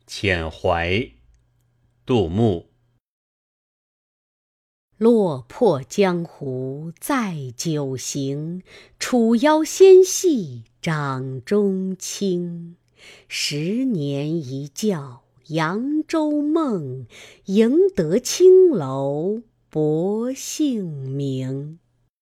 遣怀，杜牧。 落魄江湖再酒行，楚腰纤细掌中轻。10年一觉扬州梦，赢得青楼薄幸名。